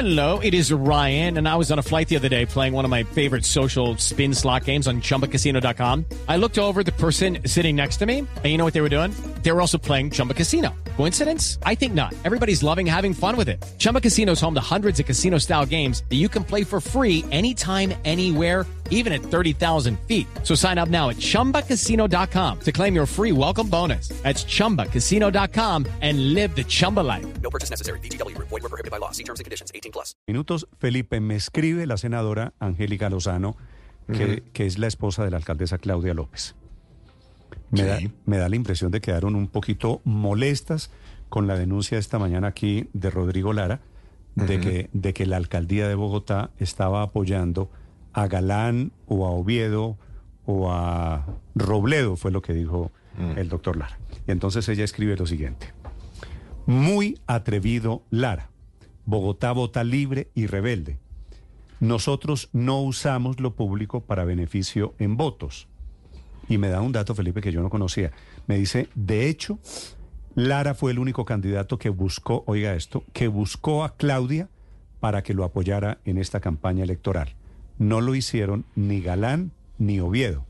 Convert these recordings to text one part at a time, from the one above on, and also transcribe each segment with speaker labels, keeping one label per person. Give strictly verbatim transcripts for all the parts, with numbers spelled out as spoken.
Speaker 1: Hello, it is Ryan, and I was on a flight the other day playing one of my favorite social spin slot games on Chumba Casino dot com. I looked over at the person sitting next to me, and you know what they were doing? They were also playing Chumba Casino. Coincidence? I think not. Everybody's loving having fun with it. Chumba Casino is home to hundreds of casino-style games that you can play for free anytime, anywhere, even at thirty thousand feet. So sign up now at Chumba Casino dot com to claim your free welcome bonus. That's Chumba Casino dot com and live the Chumba life.
Speaker 2: No purchase necessary. V G W. Void where prohibited by law. See terms and conditions. eighteen plus.
Speaker 3: Minutos, Felipe, me escribe la senadora Angélica Lozano, que, uh-huh. que es la esposa de la alcaldesa Claudia López. Me, sí. da, me da la impresión de que quedaron un poquito molestas con la denuncia esta mañana aquí de Rodrigo Lara, uh-huh. de, que, de que la alcaldía de Bogotá estaba apoyando a Galán o a Oviedo o a Robledo, fue lo que dijo uh-huh. el doctor Lara. Y entonces ella escribe lo siguiente. Muy atrevido Lara. Bogotá vota libre y rebelde. Nosotros no usamos lo público para beneficio en votos. Y me da un dato, Felipe, que yo no conocía. Me dice, de hecho, Lara fue el único candidato que buscó, oiga esto, que buscó a Claudia para que lo apoyara en esta campaña electoral. No lo hicieron ni Galán ni Oviedo.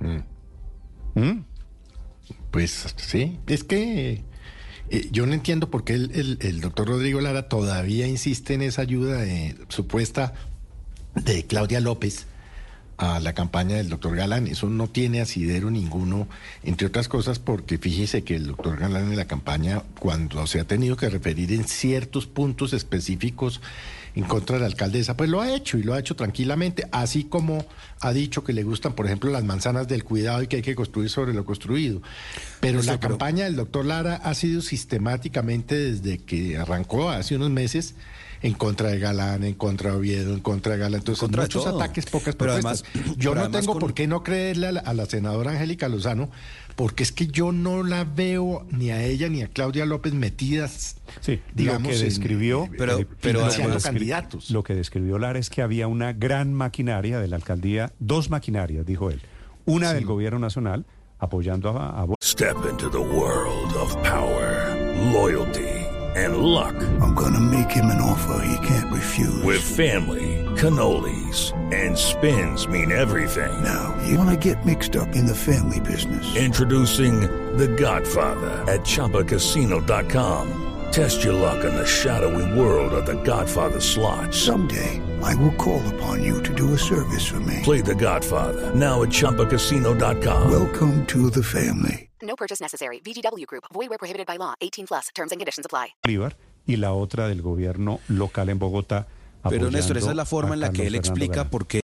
Speaker 4: Mm. ¿Mm? Pues sí, es que eh, yo no entiendo por qué el, el, el doctor Rodrigo Lara todavía insiste en esa ayuda eh, supuesta de Claudia López a la campaña del doctor Galán. Eso no tiene asidero ninguno, entre otras cosas porque fíjese que el doctor Galán en la campaña, cuando se ha tenido que referir en ciertos puntos específicos en contra de la alcaldesa, pues lo ha hecho y lo ha hecho tranquilamente, así como ha dicho que le gustan, por ejemplo, las manzanas del cuidado y que hay que construir sobre lo construido. Pero Eso, la pero... campaña del doctor Lara ha sido sistemáticamente desde que arrancó hace unos meses en contra de Galán, en contra de Oviedo, en contra de Galán. Entonces, muchos ataques, pocas
Speaker 5: pero
Speaker 4: propuestas.
Speaker 5: Además,
Speaker 4: yo no
Speaker 5: además
Speaker 4: tengo
Speaker 5: con...
Speaker 4: por qué no creerle a la, a la senadora Angélica Lozano, porque es que yo no la veo ni a ella ni a Claudia López metidas,
Speaker 3: sí,
Speaker 4: digamos,
Speaker 3: lo que describió,
Speaker 4: en,
Speaker 5: pero,
Speaker 4: eh,
Speaker 5: pero
Speaker 4: además,
Speaker 3: candidatos. Lo que describió Lara es que había una gran maquinaria de la alcaldía, dos maquinarias, dijo él. Una sí. del gobierno nacional apoyando a, a...
Speaker 6: Step into the world of power, loyalty and luck.
Speaker 7: I'm gonna make him an offer he can't refuse.
Speaker 6: With family, cannolis, and spins mean everything.
Speaker 7: Now, you wanna get mixed up in the family business.
Speaker 6: Introducing The Godfather at Chumba Casino dot com. Test your luck in the shadowy world of The Godfather slot.
Speaker 7: Someday, I will call upon you to do a service for me.
Speaker 6: Play The Godfather, now at Chumba Casino dot com.
Speaker 7: Welcome to the family.
Speaker 2: No purchase necessary. V G W Group. Void where prohibited by law. eighteen plus. Terms and conditions apply.
Speaker 3: Y la otra del gobierno local en Bogotá.
Speaker 5: Pero Néstor, esa es la forma en la que él explica por qué